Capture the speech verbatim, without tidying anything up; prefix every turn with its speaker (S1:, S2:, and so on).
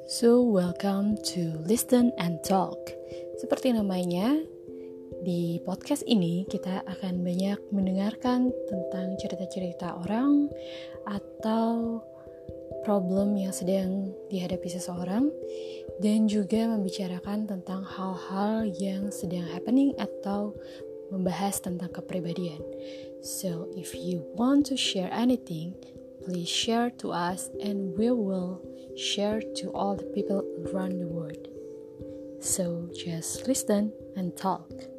S1: So, welcome to Listen and Talk. Seperti namanya, di podcast ini kita akan banyak mendengarkan tentang cerita-cerita orang atau problem yang sedang dihadapi seseorang, dan juga membicarakan tentang hal-hal yang sedang happening atau membahas tentang kepribadian. So, if you want to share anything, please share to us and we will share to all the people around the world. So, just listen and talk.